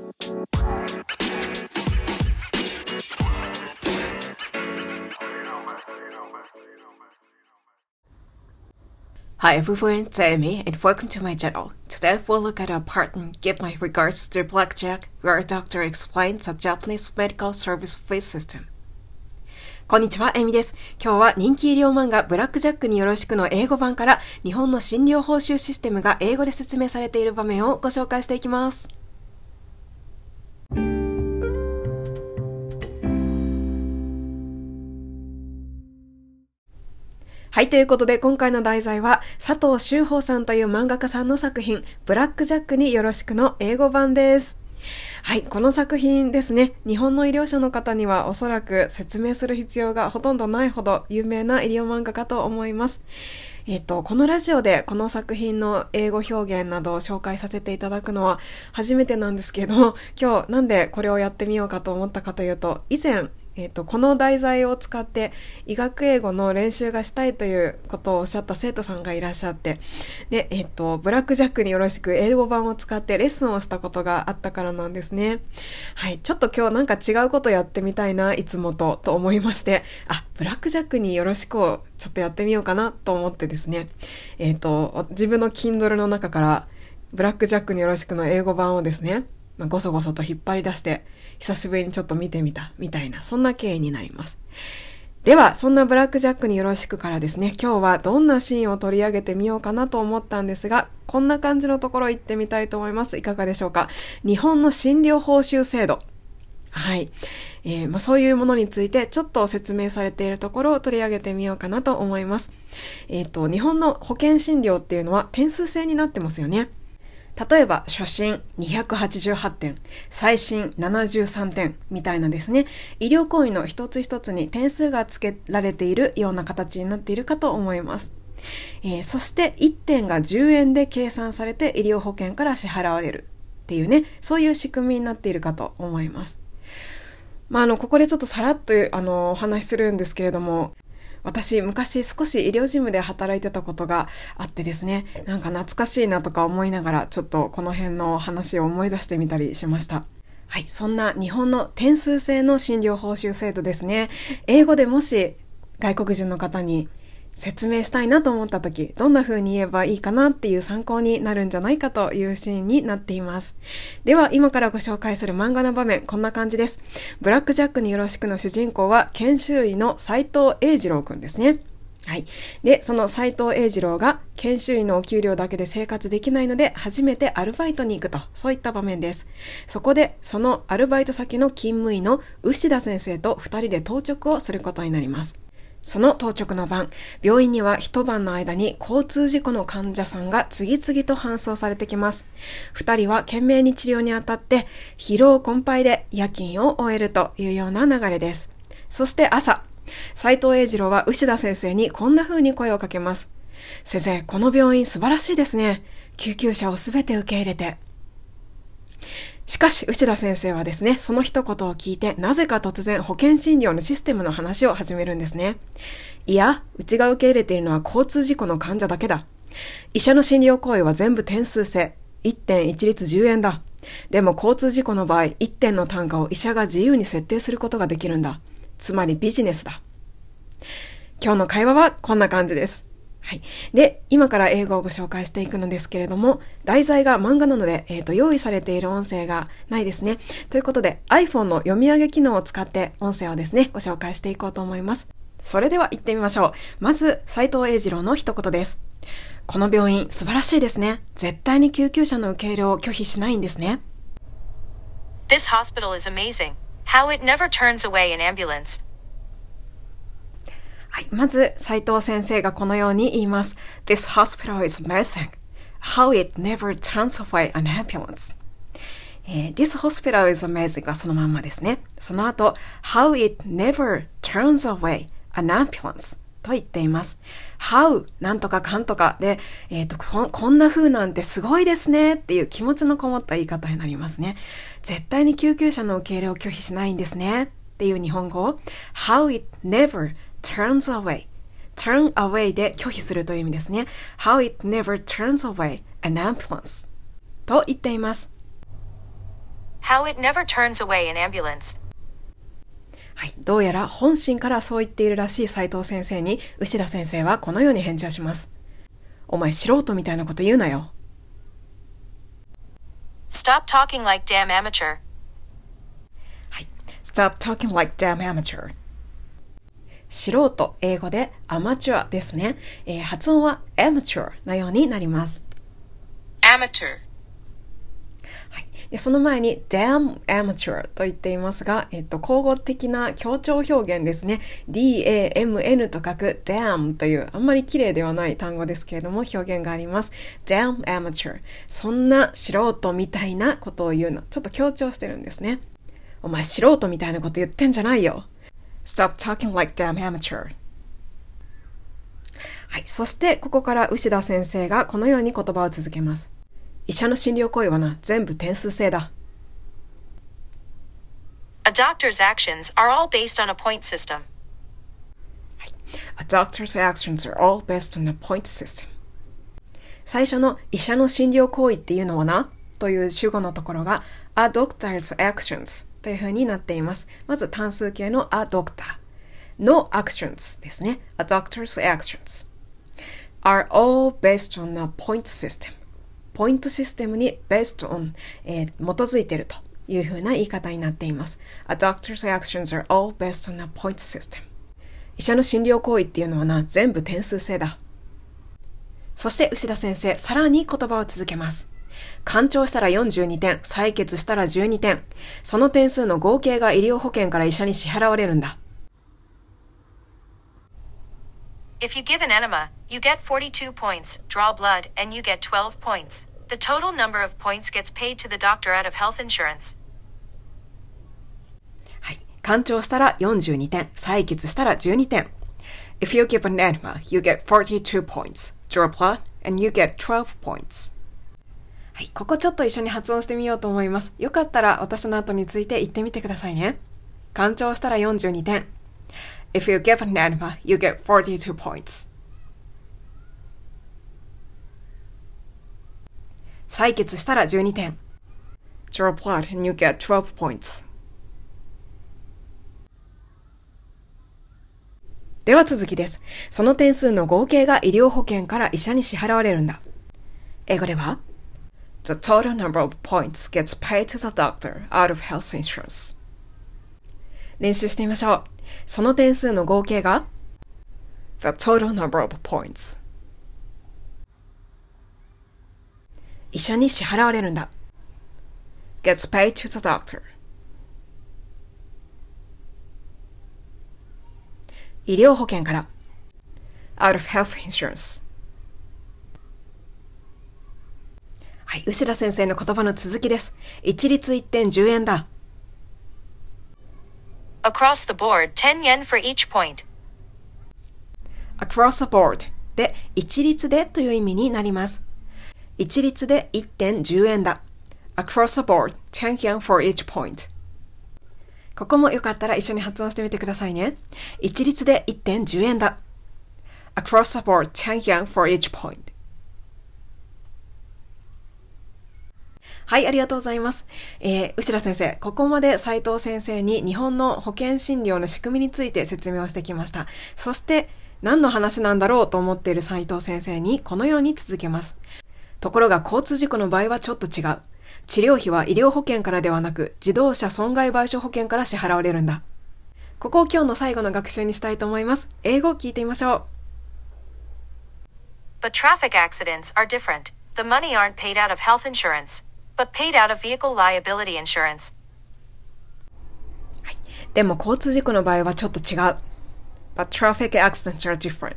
Hi everyone, it's Amy and welcome to my channel. Today we'll look at a part and give my regards to Blackjack, where a doctor explains a Japanese medical service fee system. こんにちは、エミです。今日は人気医療漫画ブラックジャックによろしくの英語版から日本の診療報酬システムが英語で説明されている場面をご紹介していきます。はい、ということで今回の題材は佐藤修法さんという漫画家さんの作品ブラックジャックによろしくの英語版です。はい、この作品ですね、日本の医療者の方にはおそらく説明する必要がほとんどないほど有名な医療漫画かと思います。このラジオでこの作品の英語表現などを紹介させていただくのは初めてなんですけど、今日なんでこれをやってみようかと思ったかというと、以前この題材を使って医学英語の練習がしたいということをおっしゃった生徒さんがいらっしゃって、で、ブラックジャックによろしく英語版を使ってレッスンをしたことがあったからなんですね。はい、ちょっと今日なんか違うことやってみたいな、いつもと思いまして、ブラックジャックによろしくをちょっとやってみようかなと思ってですね、自分の Kindle の中からブラックジャックによろしくの英語版をですね、ごそごそと引っ張り出して久しぶりにちょっと見てみたみたいな、そんな経緯になります。ではそんなブラックジャックによろしくからですね、今日はどんなシーンを取り上げてみようかなと思ったんですが、こんな感じのところ行ってみたいと思います。いかがでしょうか。日本の診療報酬制度、はい、そういうものについてちょっと説明されているところを取り上げてみようかなと思います。日本の保険診療っていうのは点数制になってますよね。例えば初診288点、最新73点みたいなですね、医療行為の一つ一つに点数がつけられているような形になっているかと思います。そして1点が10円で計算されて医療保険から支払われるっていうね、そういう仕組みになっているかと思います。ここでちょっとさらっとお話しするんですけれども、私昔少し医療事務で働いてたことがあってですね、なんか懐かしいなとか思いながらちょっとこの辺の話を思い出してみたりしました。はい、そんな日本の点数制の診療報酬制度ですね。英語でもし外国人の方に説明したいなと思った時、どんな風に言えばいいかなっていう参考になるんじゃないかというシーンになっています。では今からご紹介する漫画の場面、こんな感じです。ブラックジャックによろしくの主人公は研修医の斉藤英二郎くんですね。はい。で、その斉藤英二郎が研修医のお給料だけで生活できないので初めてアルバイトに行くと、そういった場面です。そこでそのアルバイト先の勤務医の牛田先生と2人で当直をすることになります。その当直の晩、病院には一晩の間に交通事故の患者さんが次々と搬送されてきます。二人は懸命に治療にあたって疲労困憊で夜勤を終えるというような流れです。そして朝、斉藤英二郎は牛田先生にこんな風に声をかけます。先生、この病院素晴らしいですね。救急車をすべて受け入れて。しかし牛田先生はですね、その一言を聞いてなぜか突然保険診療のシステムの話を始めるんですね。いや、うちが受け入れているのは交通事故の患者だけだ。医者の診療行為は全部点数制。1点一律10円だ。でも交通事故の場合、1点の単価を医者が自由に設定することができるんだ。つまりビジネスだ。今日の会話はこんな感じです。はい。で、今から英語をご紹介していくのですけれども、題材が漫画なので、用意されている音声がないですね。ということで、iPhone の読み上げ機能を使って音声をですね、ご紹介していこうと思います。それでは行ってみましょう。まず、斉藤英二郎の一言です。この病院素晴らしいですね。絶対に救急車の受け入れを拒否しないんですね。 This hospital is amazing. How it never turns away an ambulance. はい、まず、斉藤先生がこのように言います。This hospital is amazing. How it never turns away an ambulance. This hospital is amazing がそのまんまですね。その後、How it never turns away an ambulance と言っています。How なんとかかんとかで、こんな風なんてすごいですねっていう気持ちのこもった言い方になりますね。絶対に救急車の受け入れを拒否しないんですねっていう日本語を How it never turns away turn away で拒否するという意味ですね。How it never turns away an ambulance と言っています。 how it never turns away an ambulance. はい、どうやら本心からそう言っているらしい斉藤先生に、牛田先生はこのように返事をします。お前素人みたいなこと言うなよ。 Stop talking like damn amateur. はい、Stop talking like damn amateur。素人、英語でアマチュアですね。発音は amateur なようになります。 Amateur。 はい、でその前に damn amateur と言っていますが、口語的な強調表現ですね。damn と書く damn というあんまり綺麗ではない単語ですけれども表現があります。damn amateur。そんな素人みたいなことを言うの。ちょっと強調してるんですね。お前素人みたいなこと言ってんじゃないよ。Stop talking like damn amateur。はい、そしてここから牛田先生がこのように言葉を続けます。医者の診療行為はな、全部点数制だ。 A doctor's actions are all based on a point system. はい、A doctor's actions are all based on a point system。最初の医者の診療行為っていうのはな、という主語のところが A doctor's actions というふうになっています。まず単数形の A doctor の actions ですね。A doctor's actions are all based on a point system。ポイントシステムに based on、基づいているというふうな言い方になっています。A doctor's actions are all based on a point system。医者の診療行為っていうのはな、全部点数制だ。そして牛田先生、さらに言葉を続けます。鑑聴したら42点、採血したら12点。その点数の合計が医療保険から医者に支払われるんだ。 If you give an enema, you get 42 points, draw blood, and you get 12 points. The total number of points gets paid to the doctor out of health insurance. はい。鑑聴したら42点、採血したら12点。If you give an enema, you get 42 points, draw blood, and you get 12 points. はい、ここちょっと一緒に発音してみようと思います。よかったら私の後について言ってみてくださいね。鑑聴したら42点。If you give an enema, you get 42 points. 採血したら12点。Draw blood and you get 12 points. では続きです。その点数の合計が医療保険から医者に支払われるんだ。英語ではThe total number of points gets paid to the doctor out of health insurance. 練習してみましょう。その点数の合計が The total number of points. 医者に支払われるんだ。Gets paid to the doctor. 医療保険から Out of health insurance. はい、牛田先生の言葉の続きです。一律1点10円だ。 Across the board, 10 yen for each point. Across the board で一律でという意味になります。一律で1点10円だ。Across the board, 10 yen for each point. ここもよかったら一緒に発音してみてくださいね。一律で1点10円だ。Across the board, 10 yen for each point. はい、ありがとうございます。牛田先生、ここまで斉藤先生に日本の保険診療の仕組みについて説明をしてきました。そして、何の話なんだろうと思っている斉藤先生にこのように続けます。ところが交通事故の場合はちょっと違う。治療費は医療保険からではなく、自動車損害賠償保険から支払われるんだ。ここを今日の最後の学習にしたいと思います。英語を聞いてみましょう。 But traffic accidents are different. The money aren't paid out of health insurance.But paid out of vehicle liability insurance. はい。でも交通事故の場合はちょっと違う。But traffic accidents are different.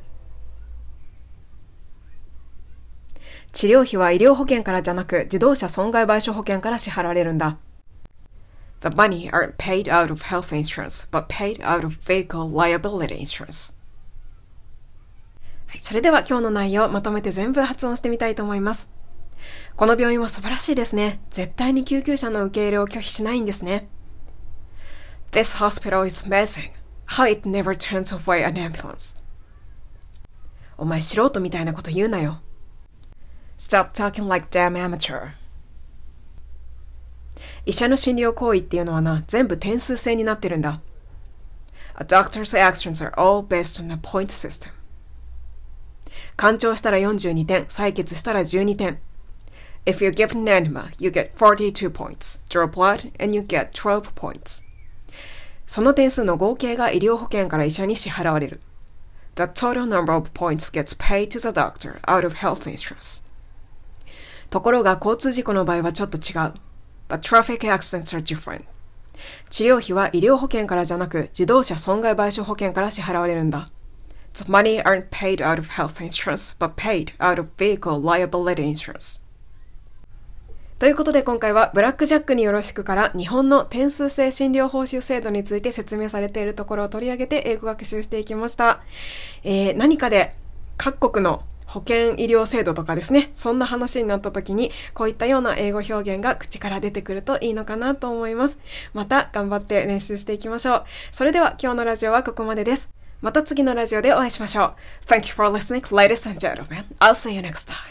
治療費は医療保険からじゃなく自動車損害賠償保険から支払われるんだ。The money aren't paid out of health insurance, but paid out of vehicle liability insurance. はい。それでは今日の内容をまとめて全部発音してみたいと思います。この病院は素晴らしいですね。絶対に救急車の受け入れを拒否しないんですね。This hospital is amazing. How it never turns away an ambulance. お前素人みたいなこと言うなよ。Stop talking like damn amateur. 医者の診療行為っていうのはな、全部点数制になってるんだ。A doctor's actions are all based on a point system. 鑑聴したら42点、採血したら12点。If you give an enema, you get 42 points. Draw blood and you get 12 points. その点数の合計が医療保険から医者に支払われる。The total number of points gets paid to the doctor out of health insurance. ところが交通事故の場合はちょっと違う。But traffic accidents are different. 治療費は医療保険からじゃなく自動車損害賠償保険から支払われるんだ。The money aren't paid out of health insurance, but paid out of vehicle liability insurance. ということで今回はブラックジャックによろしくから日本の点数制診療報酬制度について説明されているところを取り上げて英語学習していきました。何かで各国の保険医療制度とかですね、そんな話になった時にこういったような英語表現が口から出てくるといいのかなと思います。また頑張って練習していきましょう。それでは今日のラジオはここまでです。また次のラジオでお会いしましょう。Thank you for listening, ladies and gentlemen. I'll see you next time.